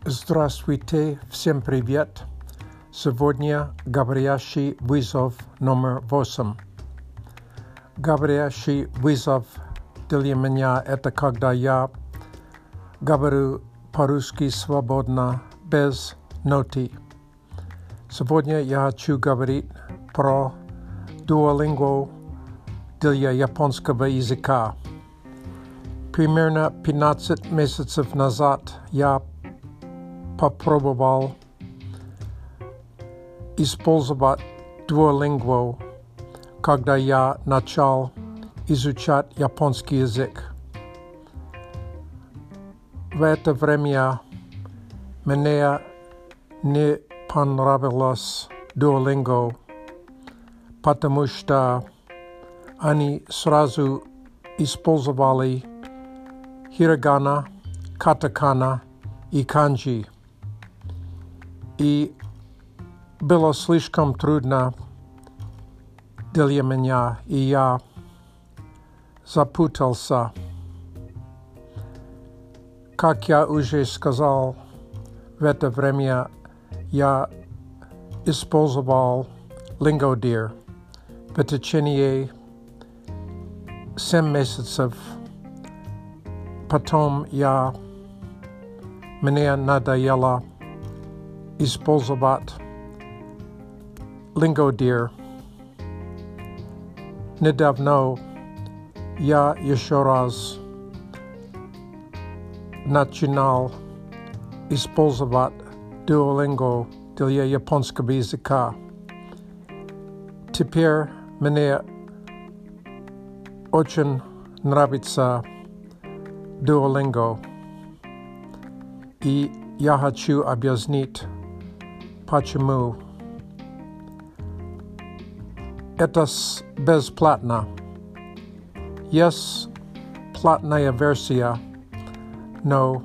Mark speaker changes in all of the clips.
Speaker 1: Здравствуйте, всем привет! Сегодня говорящий вызов номер 8. Говорящий вызов для меня это когда я говорю по-русски свободно, без ноты. Сегодня я хочу говорить про Duolingo для японского языка. Примерно 15 месяцев назад я попробовал использовать Duolingo, когда я начал изучать японский язык. В это время мне не понравилось Duolingo, потому что они сразу использовали хирогана, катакана и канджи. И было слишком трудно для меня, и я запутался. Как я уже сказал, в это время я использовал Lingodeer в течение 7 месяцев. Потом мне надоело использовать Lingodeer. Недавно я еще раз начинал использовать Duolingo для японского языка. Теперь мне очень нравится Duolingo, и я хочу объяснить, почему. Это бесплатно. Есть платная версия, но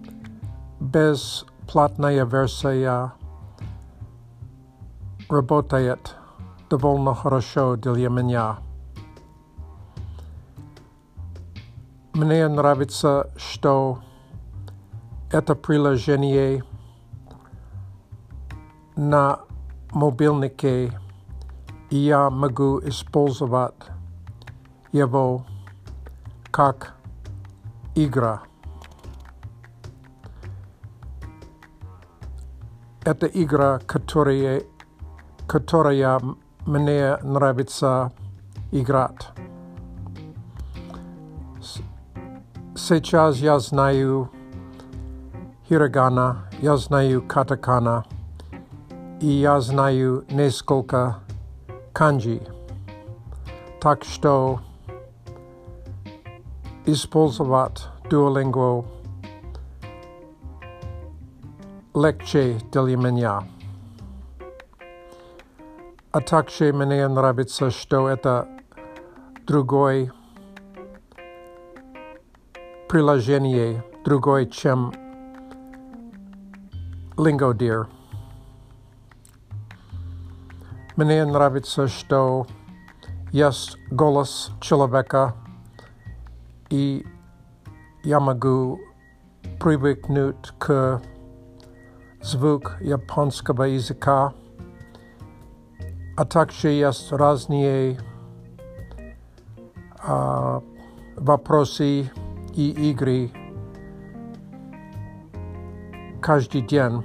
Speaker 1: бесплатная версия работает довольно хорошо для меня. Мне нравится, что это приложение на мобильнике, и я могу использовать его как игра. Это игра, которая мне нравится играть. Сейчас я знаю хирогана, я знаю катакана, и я знаю несколько канджи. Так что использовать Duolingo легче для меня. А также мне нравится, что это другое приложение, другое, чем Lingodeer. Мне нравится, что есть голос человека, и я могу привыкнуть к звуку японского языка, а также есть разные вопросы и игры каждый день.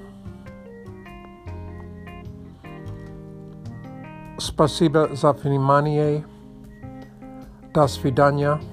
Speaker 1: Спасибо за внимание. До свидания.